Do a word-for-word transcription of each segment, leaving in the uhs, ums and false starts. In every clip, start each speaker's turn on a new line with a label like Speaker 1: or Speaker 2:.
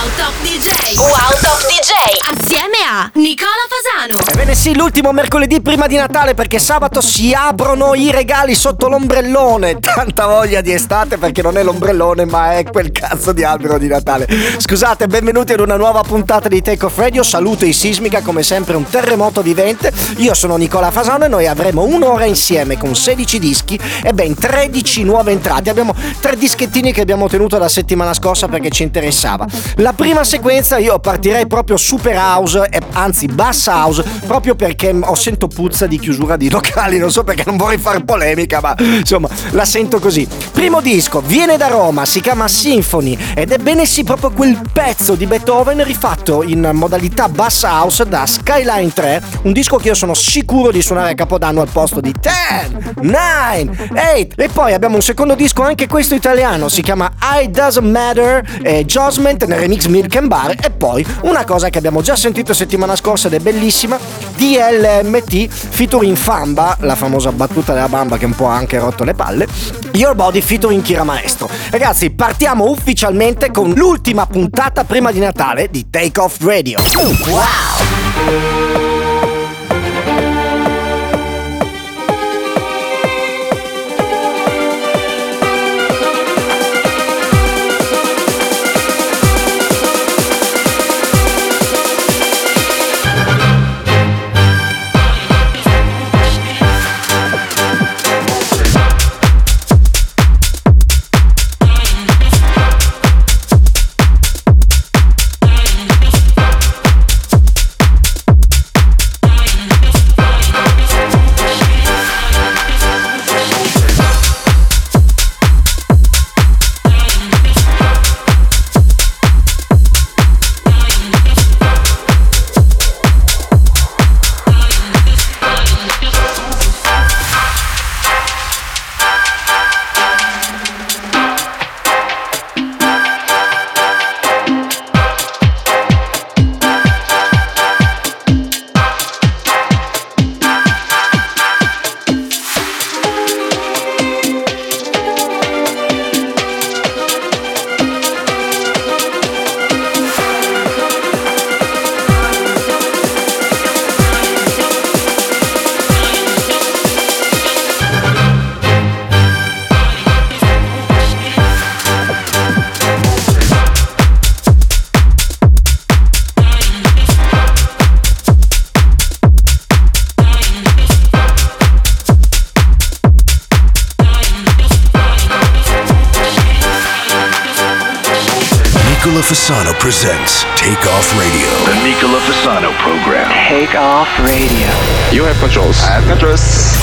Speaker 1: Top D J. Wow Top D J. Assieme a Nicola Fasano.
Speaker 2: Ebbene sì, l'ultimo mercoledì prima di Natale, perché sabato si aprono i regali sotto l'ombrellone. Tanta voglia di estate, perché non è l'ombrellone ma è quel cazzo di albero di Natale. Scusate, benvenuti ad una nuova puntata di Take Off Radio. Saluto i Sismica, come sempre un terremoto vivente. Io sono Nicola Fasano e noi avremo un'ora insieme con sedici dischi e ben tredici nuove entrate. Abbiamo tre dischettini che abbiamo tenuto la settimana scorsa perché ci interessava. La prima sequenza io partirei proprio super house, eh, anzi bass house, proprio perché ho sento puzza di chiusura di locali, non so perché, non vorrei fare polemica, ma insomma la sento così. Primo disco, viene da Roma, si chiama Symphony ed è bene sì proprio quel pezzo di Beethoven rifatto in modalità bass house da Skyline tre, un disco che io sono sicuro di suonare a Capodanno al posto di dieci, nove, otto. E poi abbiamo un secondo disco, anche questo italiano, si chiama I Doesn't Matter, eh, Josment nel remix Milk and Bar. E poi una cosa che abbiamo già sentito settimana scorsa ed è bellissima, D L M T featuring Famba, la famosa battuta della bamba che un po' ha anche rotto le palle, Your Body featuring Kira Maestro. Ragazzi, partiamo ufficialmente con l'ultima puntata prima di Natale di Take Off Radio. Wow!
Speaker 3: Fasano presents Take Off Radio.
Speaker 4: The Nicola Fasano program.
Speaker 5: Take Off Radio.
Speaker 4: You have controls. I have controls.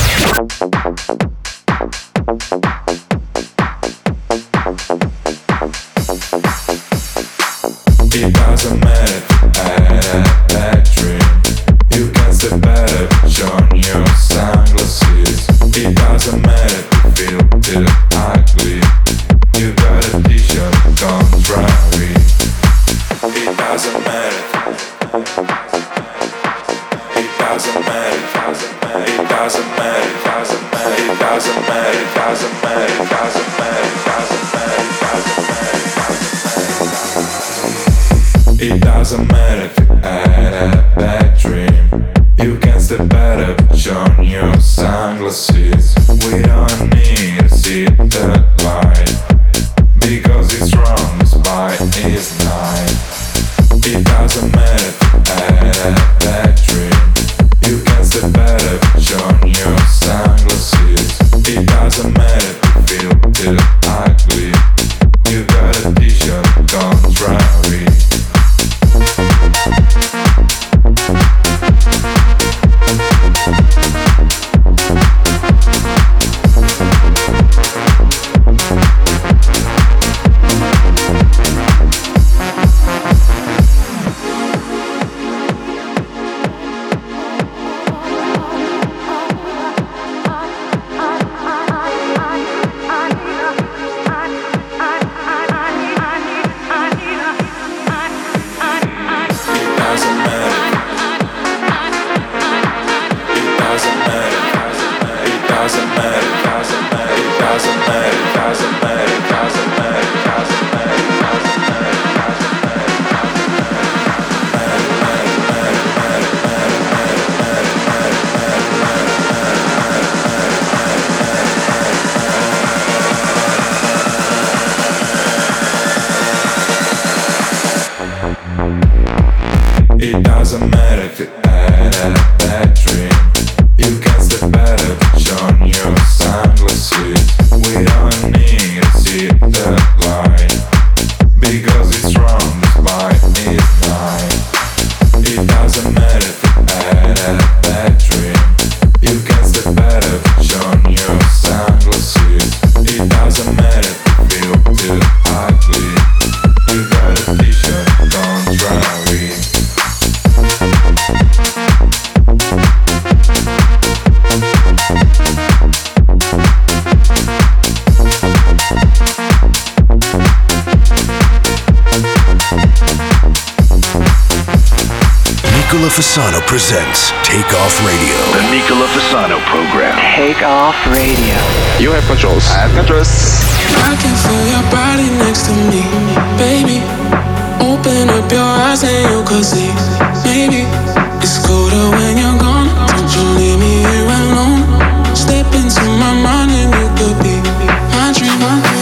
Speaker 6: It doesn't matter, I had that dream. You can step better, shine your sunglasses. It doesn't matter to feel the ugly. You got a t-shirt, don't try it. It doesn't matter. It doesn't matter. It doesn't matter. It doesn't matter. It doesn't matter. It doesn't matter. It doesn't matter. It doesn't matter. It doesn't matter. It doesn't matter if you had a bad dream. You can step better, put on your sunglasses. We don't need to see the light, because it's wrong, it's by it's night. It doesn't matter if you had a bad dream. You can step better, put on your sunglasses. It doesn't matter if you feel the ugly. You got a t-shirt, don't try it.
Speaker 3: Nicola Fasano presents Take Off Radio.
Speaker 4: The Nicola Fasano program.
Speaker 5: Take Off Radio.
Speaker 4: You have controls. I have controls.
Speaker 7: I can feel your body next to me, baby. Open up your eyes and you could see. Maybe it's colder when you're gone. Don't you leave me here alone. Step into my mind and you could be my dream.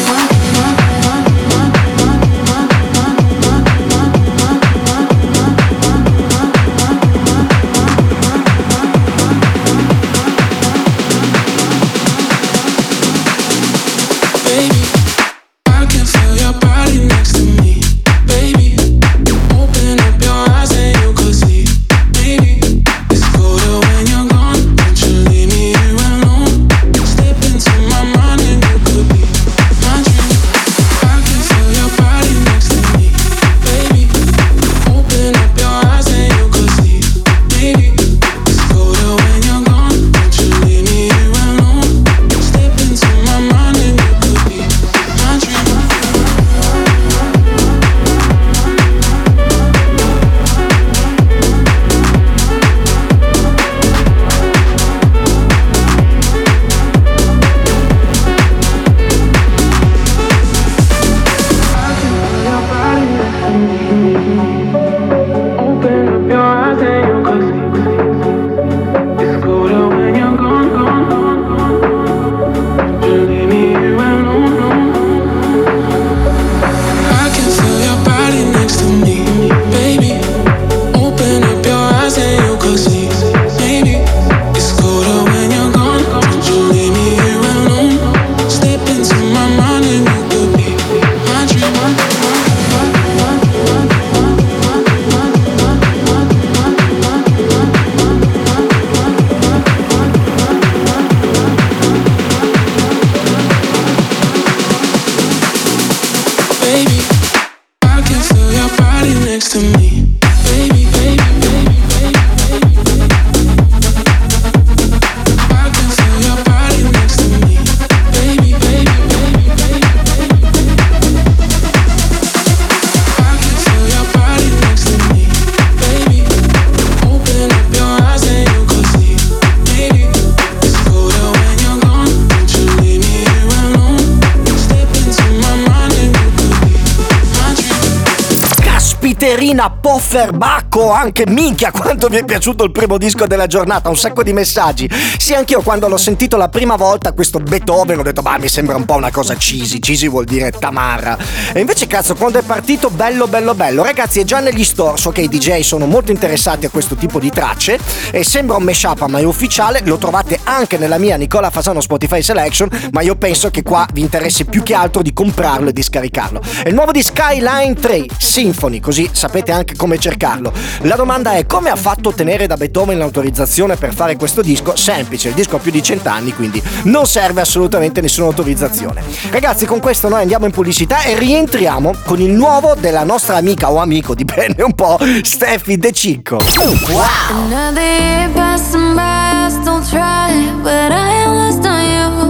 Speaker 2: Pofferbacco, anche minchia quanto mi è piaciuto il primo disco della giornata, un sacco di messaggi. Sì, anch'io quando l'ho sentito la prima volta questo Beethoven ho detto bah, mi sembra un po' una cosa cheesy, cheesy vuol dire tamarra, e invece cazzo quando è partito bello bello bello. Ragazzi, è già negli store, so che i D J sono molto interessati a questo tipo di tracce e sembra un mashup ma è ufficiale, lo trovate anche nella mia Nicola Fasano Spotify Selection, ma io penso che qua vi interessi più che altro di comprarlo e di scaricarlo. È il nuovo di Skyline tre Symphony, così sapete anche come cercarlo. La domanda è: come ha fatto a ottenere da Beethoven l'autorizzazione per fare questo disco? Semplice, il disco ha più di cent'anni, quindi non serve assolutamente nessuna autorizzazione. Ragazzi, con questo noi andiamo in pubblicità e rientriamo con il nuovo della nostra amica o amico, dipende un po', Steffi De Cicco. Wow!
Speaker 8: Another year passing by, I still try, but I am lost on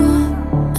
Speaker 8: you.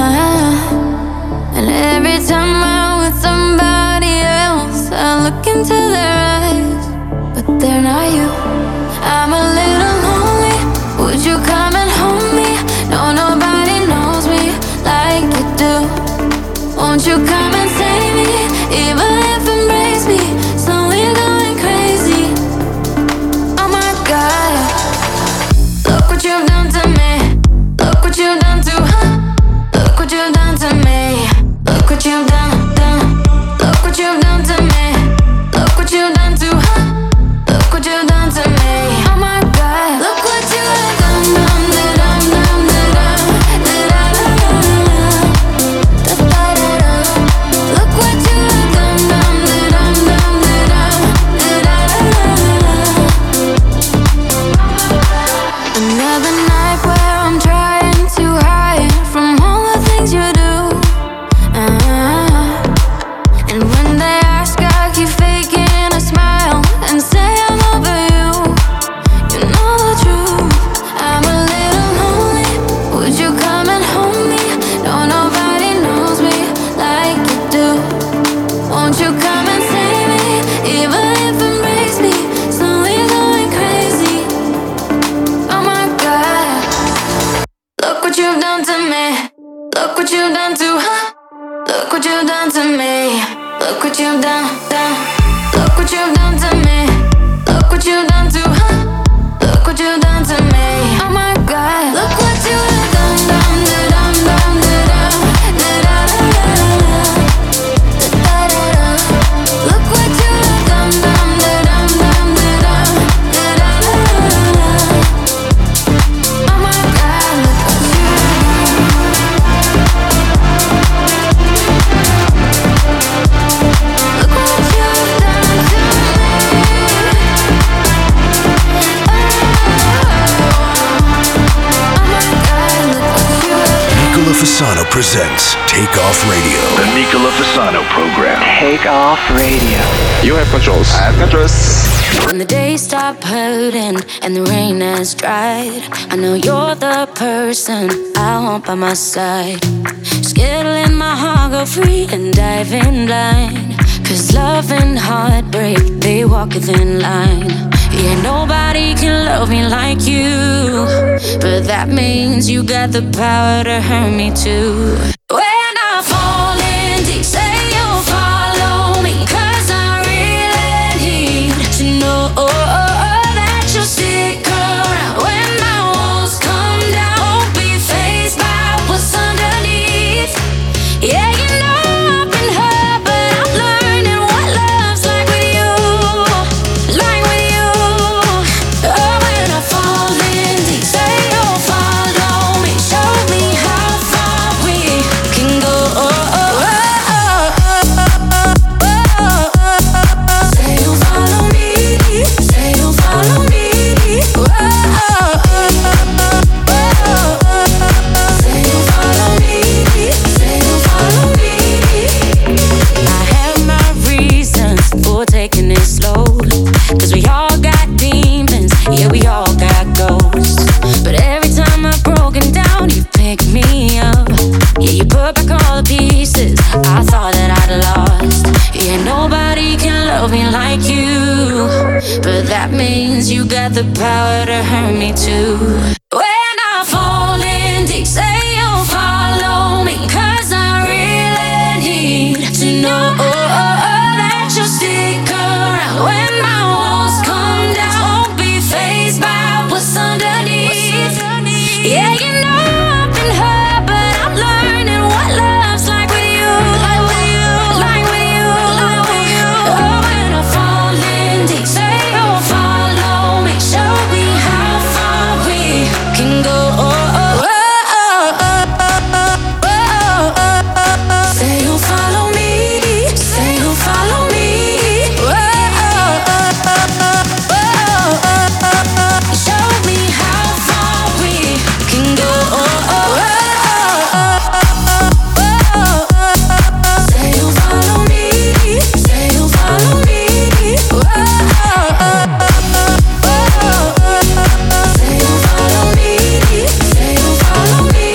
Speaker 8: uh, And every time I'm with somebody else, I look into their eyes, but they're not you. I'm a little lonely, would you come and hold me? No, nobody knows me like you do. Won't you come and save me, even if it breaks me, slowly going crazy. Oh my God, look what you've done to me. Look what you've done to her. Look what you've done to me. Look what you've done, done. Look what you've done to me. Look what you've done to her. Look what you've done what you've done to her. Look what you've done to me. Look what you've done, done. Look what you've done to me. Look what you've done to her. Look what you've done to me. Oh my God. Look what you have done, done, done, done, done, done, done, done, done. Look what you have done, done, done, done, done, done, done, done. Oh my God. Look what you've done to me.
Speaker 3: Nicola Fasano presents Take Off Radio.
Speaker 4: The Nicola Fasano program.
Speaker 5: Take Off Radio.
Speaker 4: You have controls. I have controls.
Speaker 8: When the days stop hurting and the rain has dried, I know you're the person I want by my side. Scared to let my heart go free and dive in blind. Cause love and heartbreak, they walk a thin line. Yeah, nobody can love me like you, but that means you got the power to hurt me too. When I fall in deep, say you'll follow me, cause I really need to know that you'll stick around. When my walls come down, won't be fazed by what's underneath. Yeah, you know I've been hurt, but I'm learning what love's like with you, like with you. Oh, when I fall in deep, say you'll follow me, show me how far we can go. Say you'll follow me, say you'll follow me. Say you'll follow me, say you'll follow me. I have my reasons for taking it slow, cause we all got demons, yeah, we all got ghosts. But every time I've broken down, you pick me up. Yeah, you put back all the pieces I thought that I'd lost. Yeah, nobody can love me like you, but that means you got the power to hurt me too. When I fall in deep, say you'll follow me, cause I really need to know that you'll stick around. When my walls come down, won't be fazed by what's underneath. Yeah, you know I've been hurt, but I'm learning what love's like with you, like with you, like with you, like with you. Oh, when I fall in deep, say you'll follow me, show me how far we can go. Say you'll follow me, say you'll follow me. Show me how far we can go. Say you'll follow me, say you'll follow me. Say you'll follow me, say you'll follow me.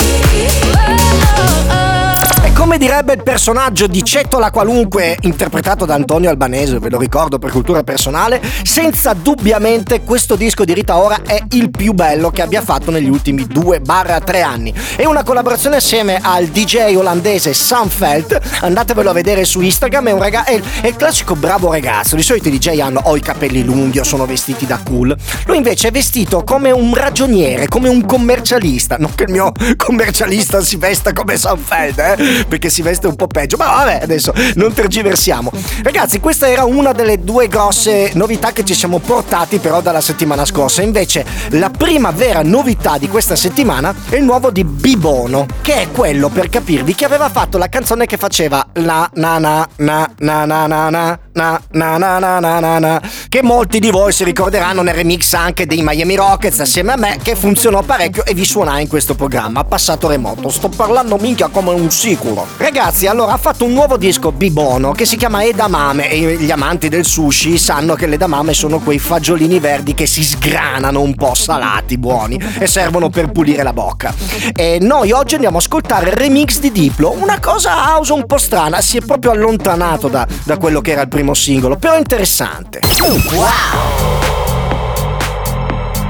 Speaker 2: E come direbbe il personaggio di Cettola Qualunque, interpretato da Antonio Albanese, ve lo ricordo per cultura personale, senza dubbiamente questo disco di Rita Ora è il più bello che abbia fatto negli ultimi due tre anni. È una collaborazione assieme al D J olandese Sunfelt, andatevelo a vedere su Instagram, è, un raga- è, il, è il classico bravo ragazzo. Di solito i D J hanno o i capelli lunghi o sono vestiti da cool, lui invece è vestito come un ragioniere, come un commercialista. Non che il mio commercialista si vesta come Sunfelt, eh? Perché si veste un po' peggio, ma vabbè, adesso non tergiversiamo. Ragazzi, questa era una delle due grosse novità che ci siamo portati però dalla settimana scorsa. Invece la prima vera novità di questa settimana è il nuovo di Bibono, che è quello, per capirvi, che aveva fatto la canzone che faceva la na na na na na na na na na na na na na na, che molti di voi si ricorderanno nel remix anche dei Miami Rockets assieme a me, che funzionò parecchio e vi suonai in questo programma passato remoto. Sto parlando minchia come un sicuro. Ragazzi, allora ha fatto un nuovo disco Bibono che si chiama Edamame, e gli amanti del sushi sanno che le edamame sono quei fagiolini verdi che si sgranano un po' salati, buoni, e servono per pulire la bocca. E noi oggi andiamo a ascoltare il remix di Diplo, una cosa house un po' strana, si è proprio allontanato da, da quello che era il primo singolo, però interessante. Wow!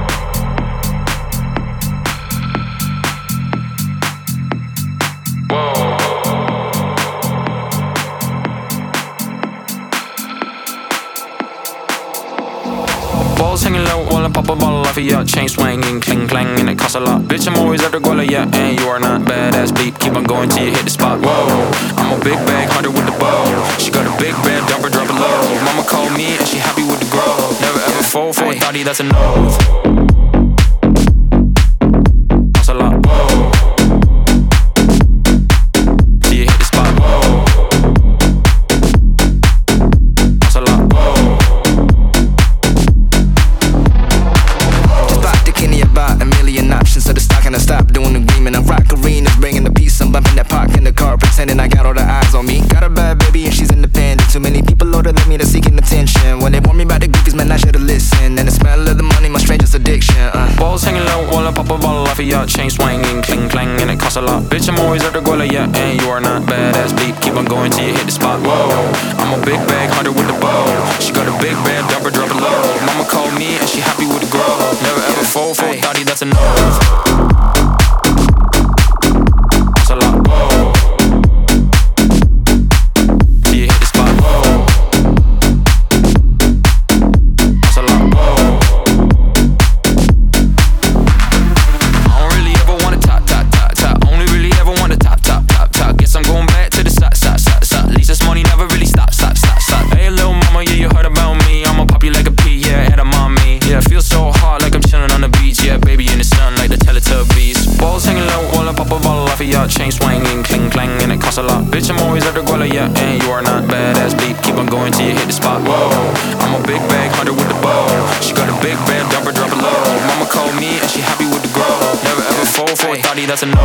Speaker 6: Whoa.
Speaker 5: Balls hanging low while I pop a bottle off of ya. Chain swinging, cling clang, and it costs a lot. Bitch, I'm always at the guala, yeah, and you are not badass beat. Keep on going till you hit the spot. Whoa, I'm a big bag hunter with the bow. She got a big bed, dump her, drop it low. Mama called me and she happy with the grow. Never ever fall for a thotty, that's a no. Costs a lot. Whoa. Till you hit the spot. Whoa. Costs a lot. Whoa.
Speaker 9: About a million options, so the stock and I stop doing the green. And I rock arenas, bringing the peace. I'm bumping that park in the car, pretending I got all the eyes on me. Got a bad baby and she's independent. Too many people older than me that's seeking attention. When they warn me about the goofies, man, I should've listened. And the smell of the money, my strangest addiction. uh.
Speaker 5: Balls hanging low while I pop a bottle off of ya. Chain swinging, cling clang, and it costs a lot. Bitch, I'm always at the guala, yeah, and you are not badass beat. Keep on going till you hit the spot. Whoa, I'm a big bag hunter with the bow. She got a big bed, dump her, drop it low. Mama called me and she happy with the grow. Never ever fall for a thotty, that's a no. That's a lot. Whoa. Till you hit the spot. Whoa. That's a lot. Whoa. I don't really ever wanna top, top, top, top. Only really ever wanna top, top, top, top. Guess I'm going back to the side, side, side, side. At least this money never really stop, stop, stop, stop. Hey, little mama, yeah, you heard about me. I'ma pop you like a pea, yeah, at a mommy. Yeah, I feel so hot like I'm chilling on the beach. Yeah, baby in the sun like the Teletubbies. Balls hanging low while I pop a bottle off of ya. Chain swinging, cling clang, and it costs a lot. Bitch, I'm always at the guala, yeah, and you are not badass beat. Keep on going till you hit the spot. Whoa, I'm a big bag hunter with the bow. She got a big bed, dump her, drop it low. Mama called me and she happy with the grow. Never ever fall for a thotty, that's a no.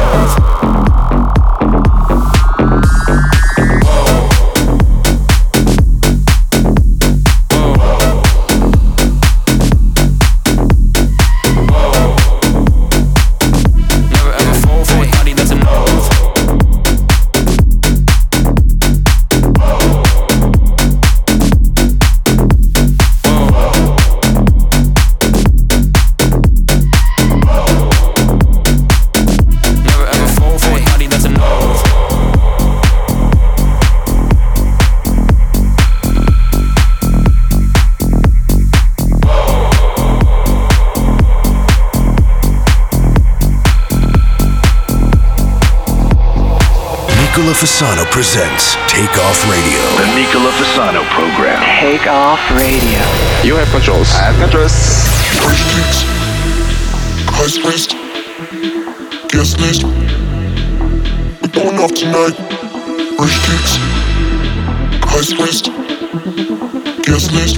Speaker 3: Nicola Fasano presents Take Off Radio.
Speaker 4: The Nicola Fasano program.
Speaker 10: Take Off Radio.
Speaker 4: You have controls. I have controls.
Speaker 11: Fresh kicks, high wrist, guest list. We're going off tonight. Fresh kicks, high wrist, guest list.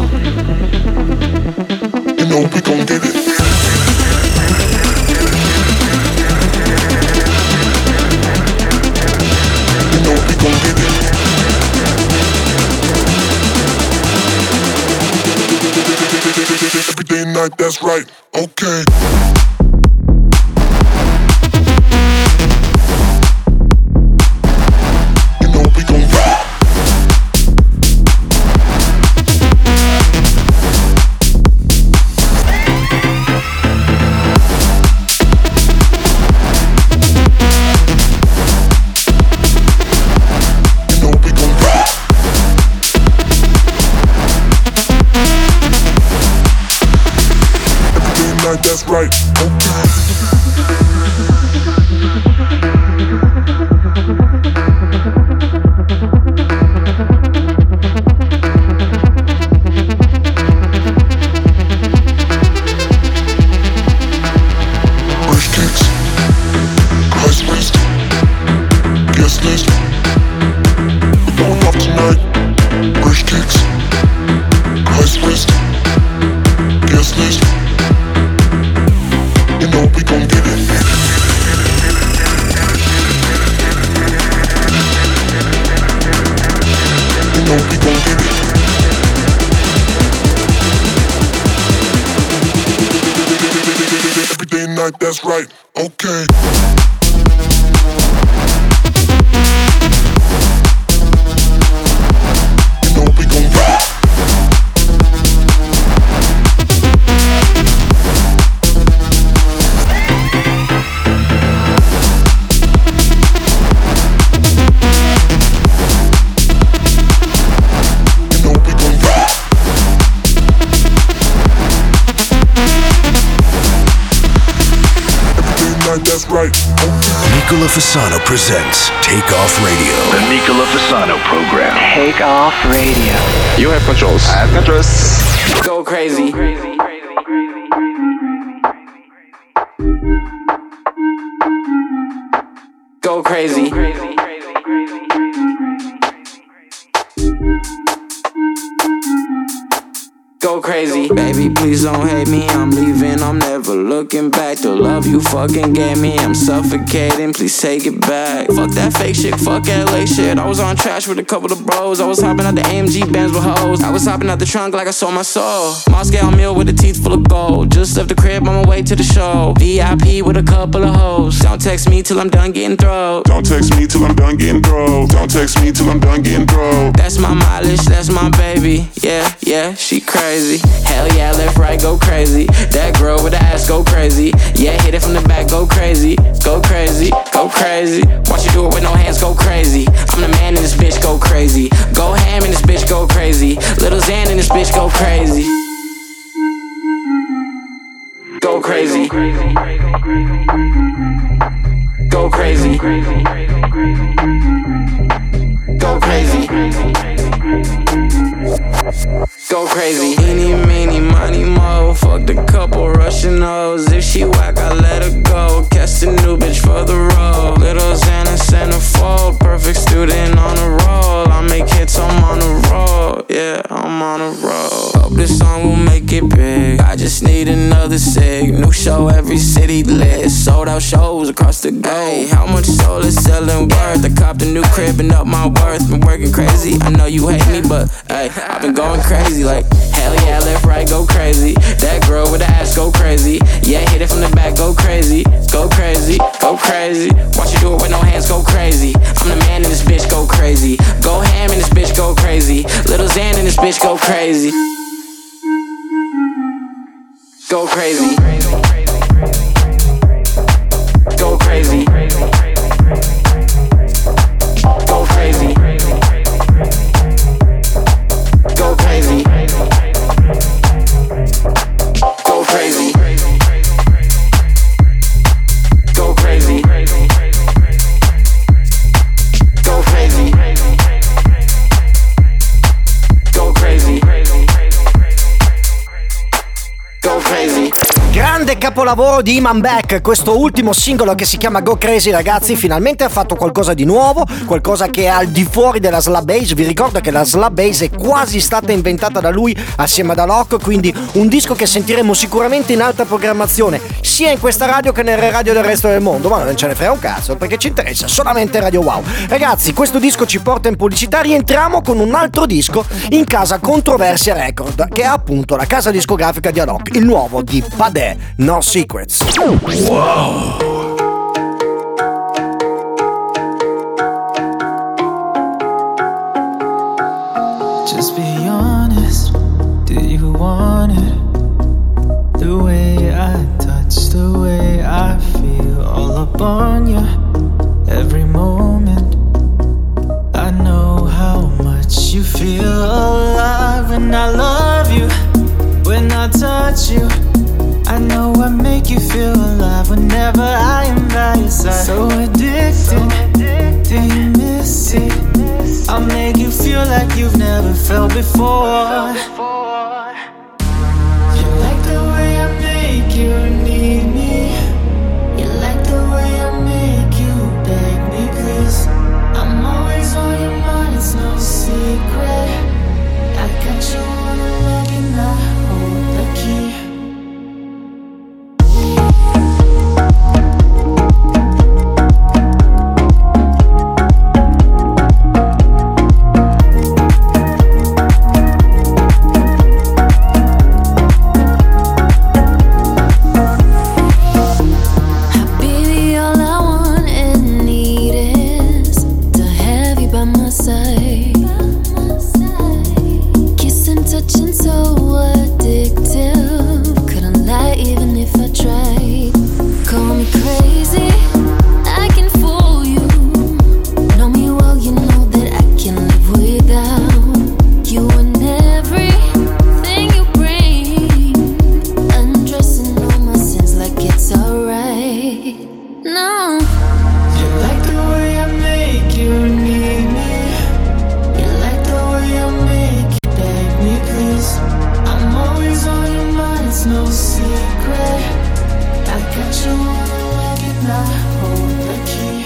Speaker 11: You know we gon' get it. You know we gon' get it. Every day and night, that's right, okay. You know we gon' rock. You know we gon' rock. That's right, okay. Fresh kicks, high wrist, guest list. We're going off tonight. Fresh kicks, high wrist, guest list. You know we gon' get it. You know we gon' get it. Every day and night, that's right, okay. You know we gon' rock. You know we gon' rock. that's right.
Speaker 3: Nicola Fasano presents Take Off Radio.
Speaker 4: The Nicola Fasano program.
Speaker 10: Take Off Radio.
Speaker 4: You have controls. I have controls.
Speaker 9: Go crazy. Go crazy. Go crazy. Baby, please don't hate me. I'm leaving, I'm never looking back. The love you fucking gave me, I'm suffocating. Please take it back. Fuck that fake shit, fuck L A shit. I was on trash with a couple of bros. I was hopping out the A M G Benz with hoes. I was hopping out the trunk like I sold my soul. Moscow meal with a teeth full of gold. Just left the crib on my way to the show. V I P with a couple of hoes. Don't text me till I'm done getting throw.
Speaker 11: Don't text me till I'm done getting throw. Don't text me till I'm done getting throw.
Speaker 9: That's my mileage, that's my baby. Yeah, yeah, she crazy. Hell yeah, left, right, go crazy. That girl with the ass, go crazy. Yeah, hit it from the back, go crazy. Go crazy, go crazy. Watch you do it with no hands, go crazy. I'm the man in this bitch, go crazy. Go ham in this bitch, go crazy. Little Xan in this bitch, go crazy. Go crazy. Go crazy. Go crazy. Go crazy. Eeny, meeny, money, mo. Fucked a couple Russian hoes. If she whack, I let her go. Catch the new bitch for the road. Little Xana centerfold. Perfect student on a roll. I make hits, I'm on a roll. Yeah, I'm on a roll. Hope this song will make it big. I just need another sig. New show, every city lit. Sold out shows across the globe. How much soul is selling worth? I copped a new crib and up my worth. Been working crazy. I know you hate me, but hey, I've been going crazy. Like hell yeah, left, right, go crazy. That girl with the ass, go crazy. Yeah, hit it from the back, go crazy. Go crazy, go crazy. Watch you do it with no hands, go crazy. I'm the man in this bitch, go crazy. Go ham in this bitch, go crazy. Little Xan in this bitch, go crazy. Go crazy. Go crazy. Go crazy. Go crazy. Go crazy. Go crazy. Go crazy. Go crazy. Go crazy.
Speaker 2: Grande capolavoro di Iman Beck, questo ultimo singolo che si chiama Go Crazy, ragazzi. Finalmente ha fatto qualcosa di nuovo, qualcosa che è al di fuori della slab bass. Vi ricordo che la slab bass è quasi stata inventata da lui assieme ad Alok, quindi un disco che sentiremo sicuramente in alta programmazione sia in questa radio che nelle radio del resto del mondo, ma non ce ne frega un cazzo perché ci interessa solamente Radio Wow. Ragazzi, questo disco ci porta in pubblicità. Rientriamo con un altro disco in casa Controversia Record, che è appunto la casa discografica di Alok, il nuovo di Padè, No Secrets.
Speaker 3: Wow.
Speaker 12: Just be honest, do you want it? The way I touch, the way I feel, all up on you, every moment. I know how much you feel alive, and I love you when I touch you. I know I make you feel alive whenever I am by your side. So addicted, do you miss it? I'll make you feel like you've never felt before. You like the way I make you need me. You like the way I make you beg me, please. I'm always on your mind, it's no secret. I got you on a leg and I hold the key. place. I'm always on your mind, it's no secret. I got you on the leg and I hold the key.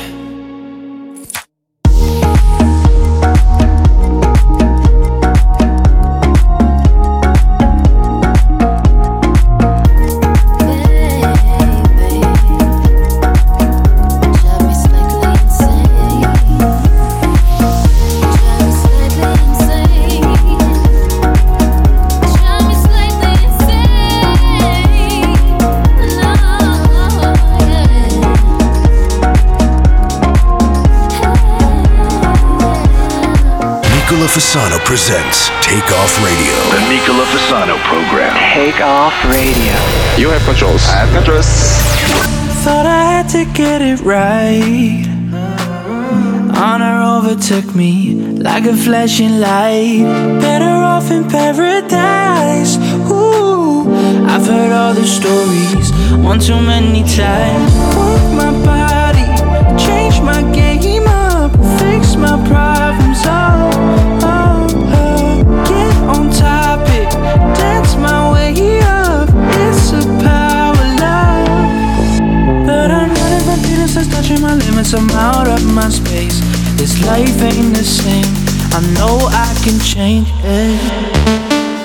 Speaker 3: Nicola Fasano presents Take Off Radio.
Speaker 4: The Nicola Fasano program.
Speaker 10: Take Off Radio.
Speaker 4: You have controls. I have controls.
Speaker 12: Thought I had to get it right. Honor overtook me like a flashing light. Better off in paradise. Ooh, I've heard all the stories one too many times. Work my body, change my game up, fix my problems. Oh, oh, oh. Get on topic, dance my way up. It's a power love. But I'm running from feelings that's touching my limits. I'm out of my space. This life ain't the same. I know I can change it.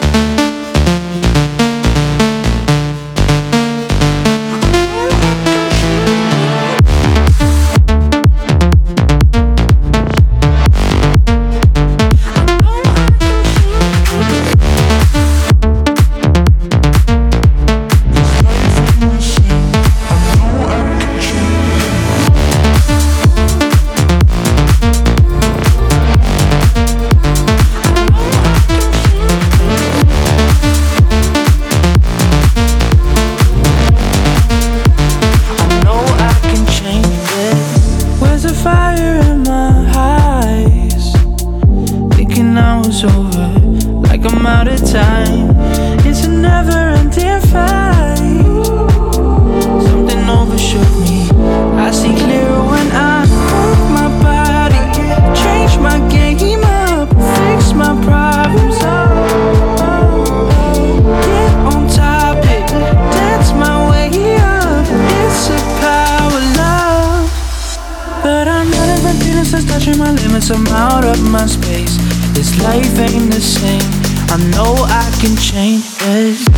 Speaker 12: I'm out of my space. This life ain't the same. I know I can change it.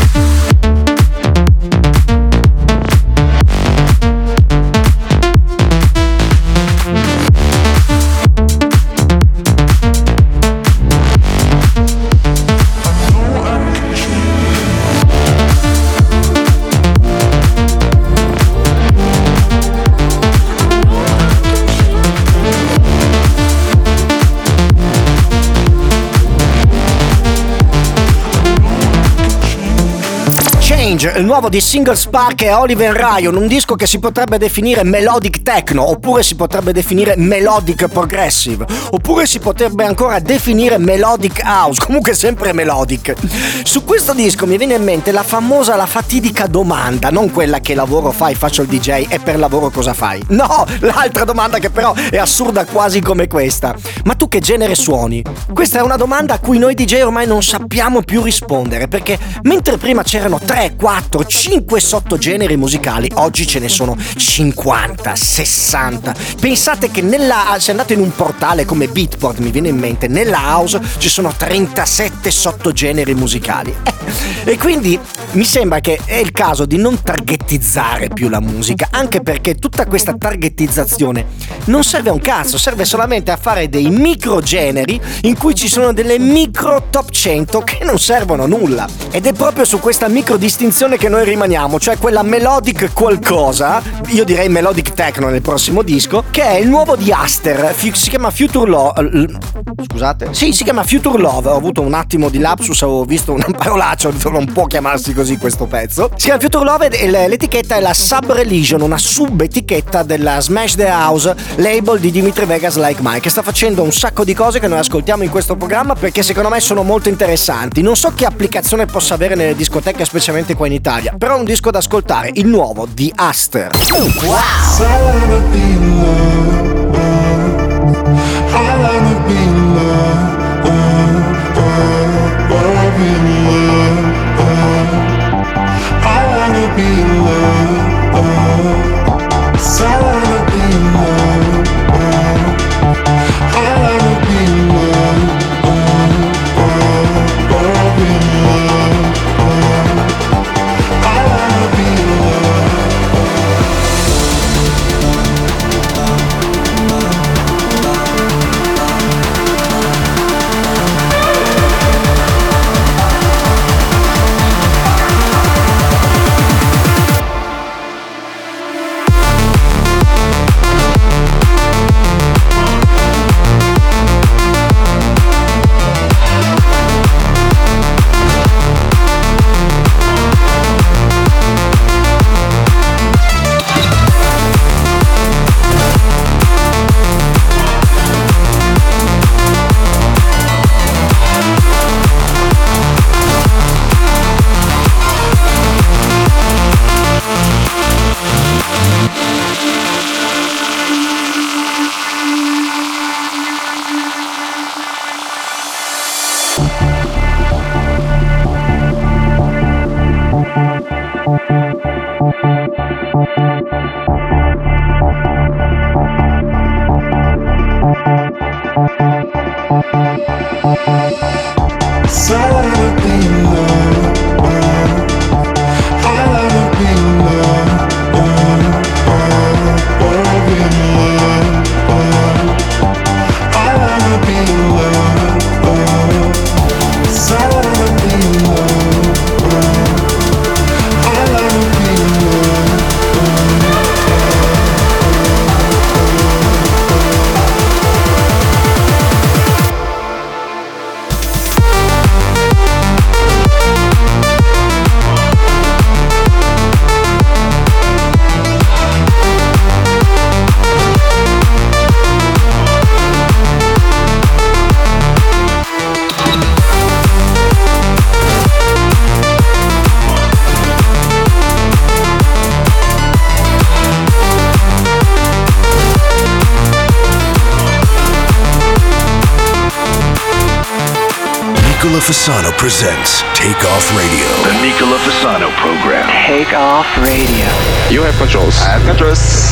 Speaker 2: Il nuovo di Single Spark e Oliver Ryan, un disco che si potrebbe definire melodic techno, oppure si potrebbe definire melodic progressive, oppure si potrebbe ancora definire melodic house, comunque sempre melodic. Su questo disco mi viene in mente la famosa, la fatidica domanda, non quella che lavoro fai, faccio il D J e per lavoro cosa fai? No, l'altra domanda che però è assurda quasi come questa. Ma tu che genere suoni? Questa è una domanda a cui noi D J ormai non sappiamo più rispondere, perché mentre prima c'erano tre, quattro, cinque sottogeneri musicali, oggi ce ne sono cinquanta, sessanta. Pensate che nella, se andate in un portale come Beatport, mi viene in mente, nella house ci sono trentasette sottogeneri musicali. Eh, e quindi mi sembra che è il caso di non targetizzare più la musica, anche perché tutta questa targetizzazione non serve a un cazzo, serve solamente a fare dei microgeneri in cui ci sono delle micro top cento che non servono a nulla. Ed è proprio su questa micro distinzione che noi rimaniamo, cioè quella melodic qualcosa, io direi melodic techno nel prossimo disco, che è il nuovo di Aster, si chiama Future Love. Scusate? Sì, si chiama Future Love. Ho avuto un attimo di lapsus, avevo visto una parolaccia, ho detto non può chiamarsi così questo pezzo. Si chiama Future Love e l'etichetta è la Sub Religion, una sub-etichetta della Smash the House, label di Dimitri Vegas Like Mike, che sta facendo un sacco di cose che noi ascoltiamo in questo programma perché secondo me sono molto interessanti. Non so che applicazione possa avere nelle discoteche, specialmente qua in Italia, però è un disco da ascoltare, il nuovo di Aster. Wow!
Speaker 11: I wanna be loved,
Speaker 3: Fasano presents Take Off Radio.
Speaker 4: The Nicola Fasano program.
Speaker 10: Take Off Radio.
Speaker 4: You have controls. I have controls.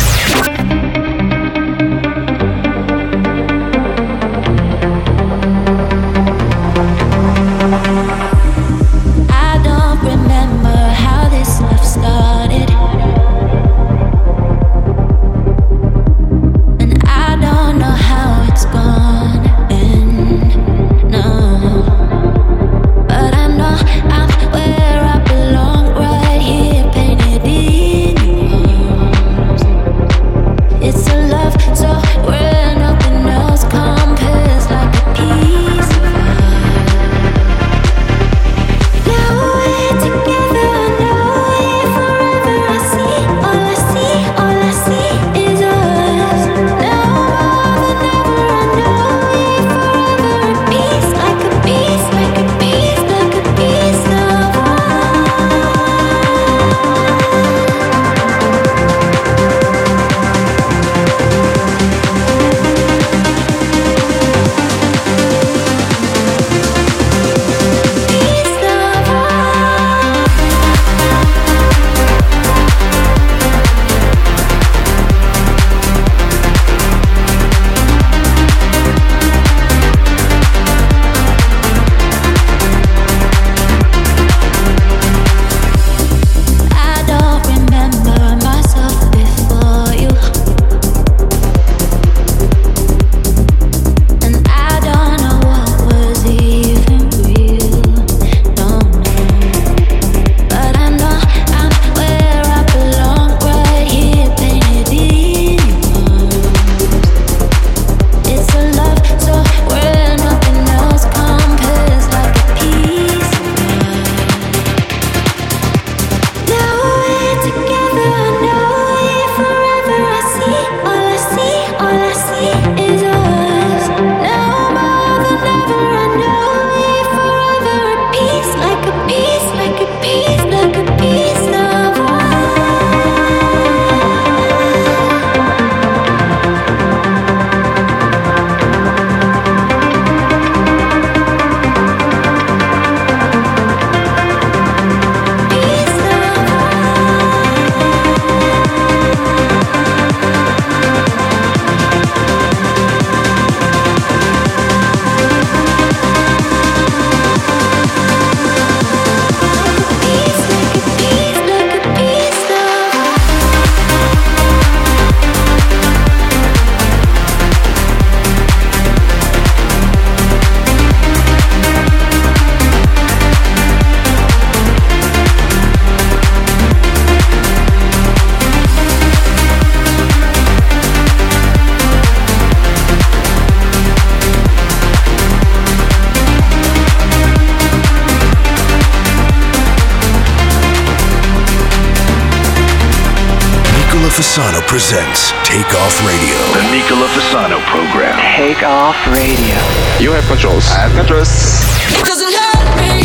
Speaker 3: Fasano presents Take Off Radio.
Speaker 4: The Nicola Fasano program.
Speaker 10: Take Off Radio.
Speaker 4: You have controls. I have controls.
Speaker 13: It doesn't hurt me.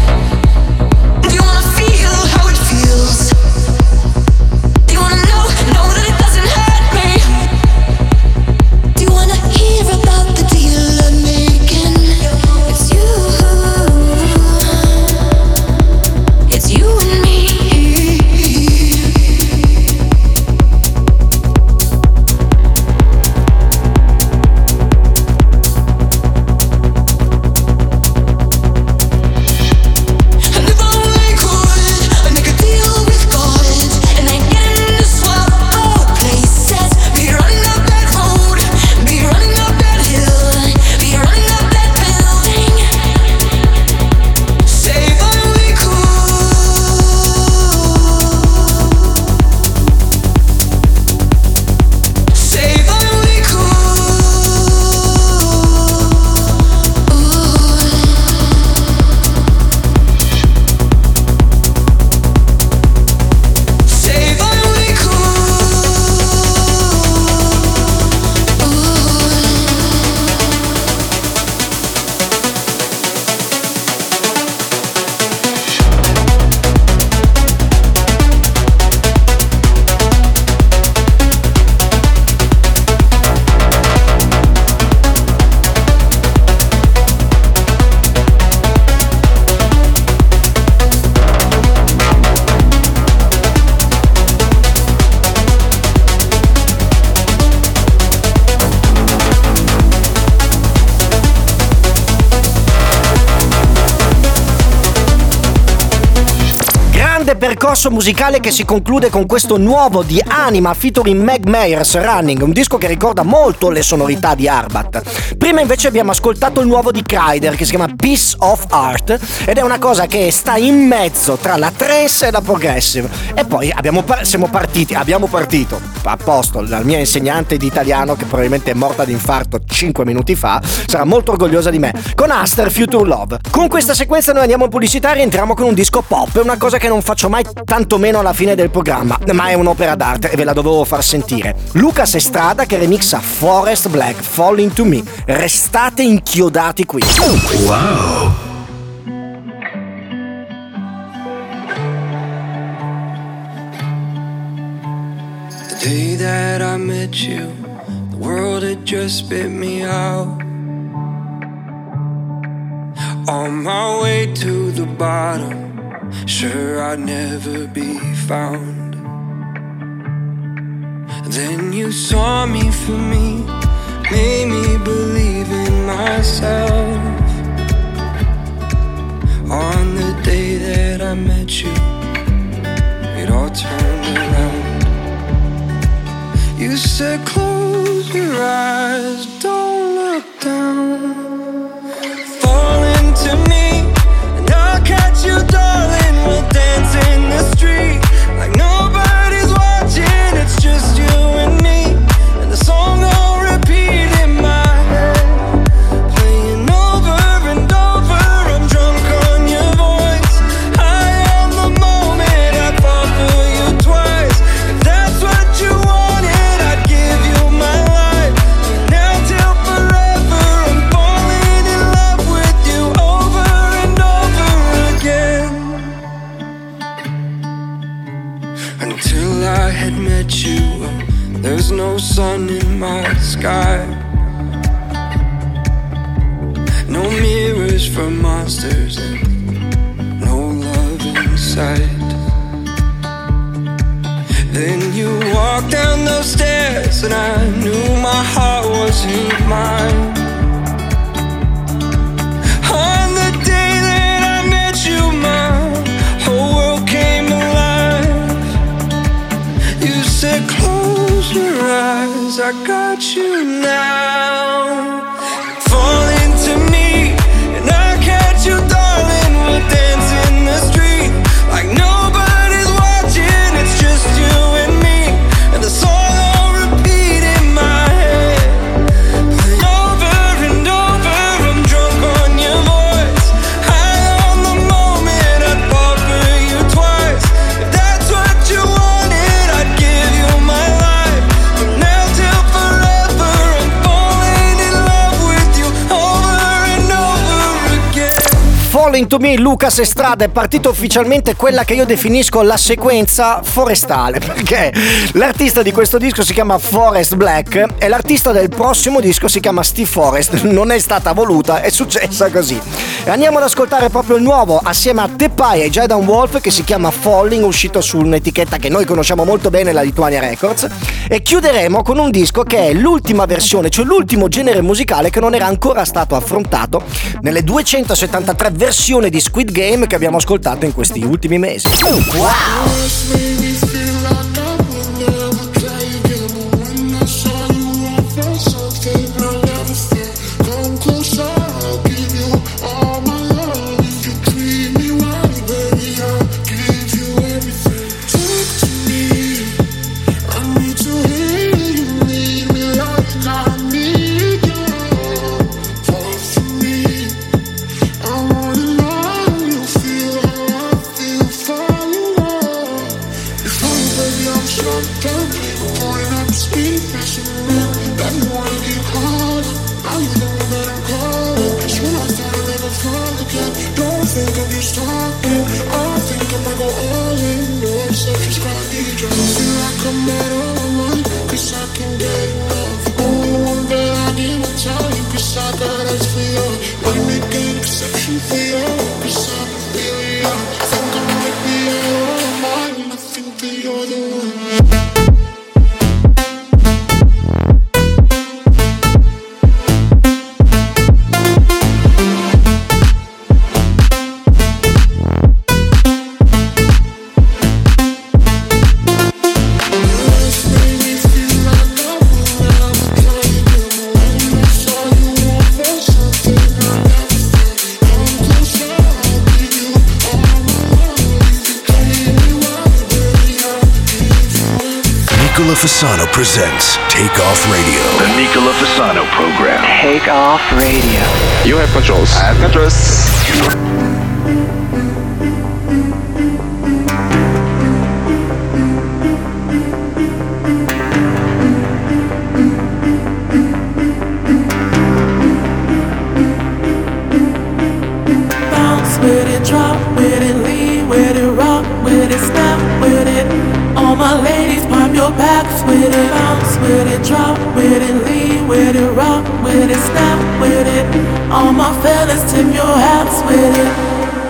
Speaker 13: Do you wanna feel how it feels? Do you wanna know, know that it doesn't hurt me? Do you wanna hear about the deal I'm making? It's you. It's you and me.
Speaker 2: grande percorso musicale che si conclude con questo nuovo di Anima featuring Meg Myers, Running, un disco che ricorda molto le sonorità di Arbat. Prima invece abbiamo ascoltato il nuovo di Kryder che si chiama Piece of Art ed è una cosa che sta in mezzo tra la trance e la progressive. E poi abbiamo par- siamo partiti, abbiamo partito a posto, la mia insegnante di italiano che probabilmente è morta di infarto cinque minuti fa sarà molto orgogliosa di me, con Aster Future Love. Con questa sequenza noi andiamo in pubblicità e entriamo con un disco pop, è una cosa che non faccio mai, tantomeno alla fine del programma, ma è un'opera d'arte e ve la dovevo far sentire. Lucas Estrada che remixa Forest Black, Falling to Me. Restate inchiodati qui.
Speaker 3: Wow.
Speaker 14: The day that I met you, the world had just spit me out. On my way to the bottom, sure I'd never be found. Then you saw me for me, made me believe in myself. On the day that I met you, it all turned around. You said close your eyes, don't look down. Fall into me, and I'll catch you, darling. We'll dance in the street like nobody's watching. It's just you and me, and the song will repeat in my head, playing over and over. I'm drunk on your voice, high on the moment. I'd fall for you twice. If that's what you wanted, I'd give you my life. Now till forever, I'm falling in love with you over and over again. Until I had met you, there's no sun in my sky, no mirrors for monsters, and no love inside. Then you walked down those stairs, and I knew my heart wasn't mine. On the day that I met you, my whole world came alive. You said close your eyes, I got you now. Fall into me, and I catch you, darling. We'll dance in the street like nobody's watching. It's just you and me, and the song will repeat in my head, playing over and over. I'm drunk on your voice, high on the moment. I'd fall for you twice. If that's what you wanted, I'd give you my life. From now till forever, I'm falling in love with you over and over again.
Speaker 2: Falling to Me, Lucas Estrada, è partito ufficialmente quella che io definisco la sequenza forestale, perché l'artista di questo disco si chiama Forest Black e l'artista del prossimo disco si chiama Steve Forrest. Non è stata voluta, è successa così. E andiamo ad ascoltare proprio il nuovo assieme a Tepai e Jaydan Wolf che si chiama Falling, uscito su un'etichetta che noi conosciamo molto bene, la Lituania Records, e chiuderemo con un disco che è l'ultima versione, cioè l'ultimo genere musicale che non era ancora stato affrontato nelle duecentosettantatré versioni di Squid Game che abbiamo ascoltato in questi ultimi mesi.
Speaker 7: If I'm
Speaker 3: Fasano presents Take Off Radio.
Speaker 4: The Nicola Fasano program.
Speaker 10: Take Off Radio.
Speaker 4: You have controls. I have controls.
Speaker 15: Bounce with it, drop with it, lean with it, rock with it, snap with it. All my ladies, pop your backs with it. Bounce with it, drop with it, lean with it, rock with it, snap with it. All my fellas, tip your hats with it.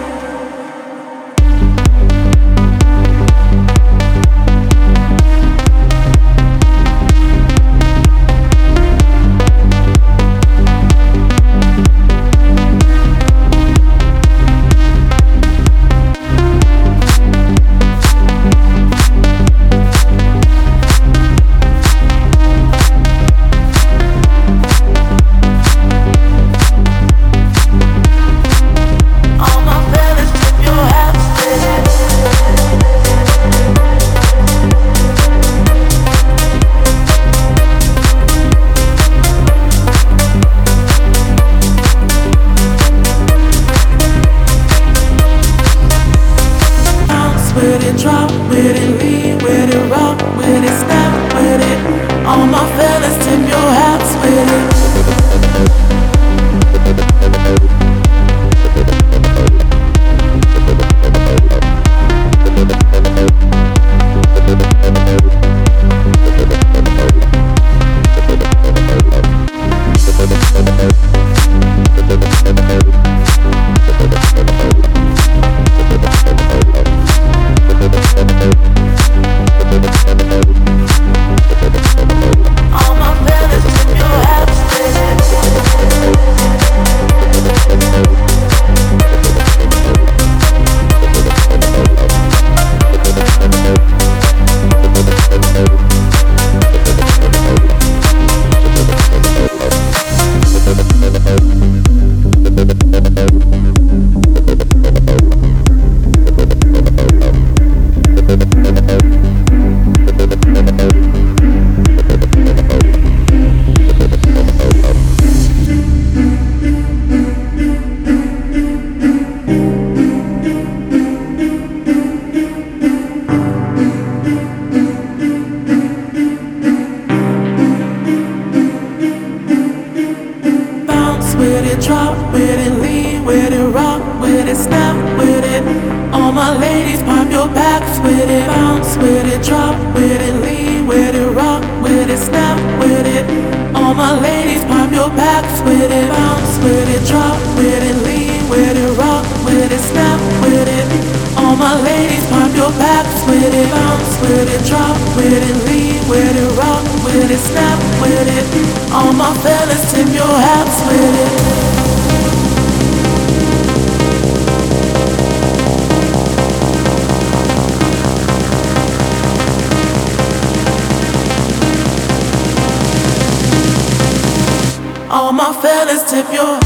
Speaker 15: All my fellas, tip your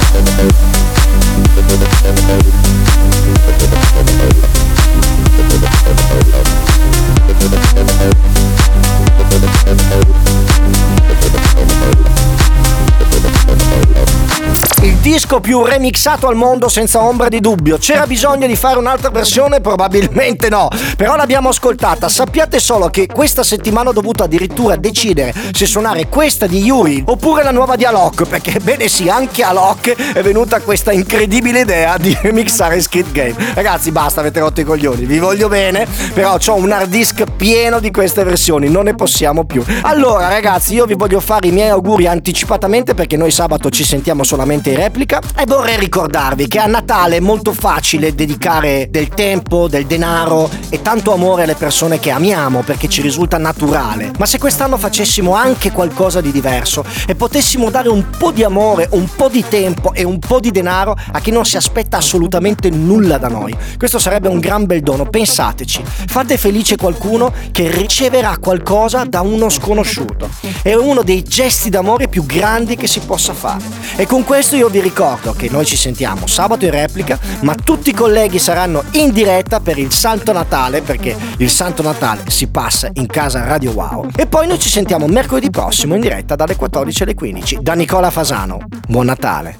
Speaker 2: Il disco più remixato al mondo senza ombra di dubbio. C'era bisogno di fare un'altra versione? Probabilmente no, però l'abbiamo ascoltata. Sappiate solo che questa settimana ho dovuto addirittura decidere se suonare questa di Yuri oppure la nuova di Alok, perché bene sì, anche Alok è venuta questa incredibile idea di remixare Squid Game. Ragazzi, basta, avete rotto i coglioni, vi voglio bene, però ho un hard disk pieno di queste versioni, non ne possiamo più. Allora ragazzi, io vi voglio fare i miei auguri anticipatamente, perché noi sabato ci sentiamo solamente in replica, e vorrei ricordarvi che a Natale è molto facile dedicare del tempo, del denaro e tanto amore alle persone che amiamo, perché ci risulta naturale. Ma se quest'anno facessimo anche qualcosa di diverso e potessimo dare un po' di amore, un po' di tempo e un po' di denaro a chi non si aspetta assolutamente nulla da noi, questo sarebbe un gran bel dono. Pensateci, fate felice qualcuno che riceverà qualcosa da uno sconosciuto. È uno dei gesti d'amore più grandi che si possa fare. E con questo io vi ricordo ricordo che noi ci sentiamo sabato in replica, ma tutti i colleghi saranno in diretta per il Santo Natale, perché il Santo Natale si passa in casa Radio Wow. E poi noi ci sentiamo mercoledì prossimo in diretta dalle quattordici alle quindici da Nicola Fasano. Buon Natale.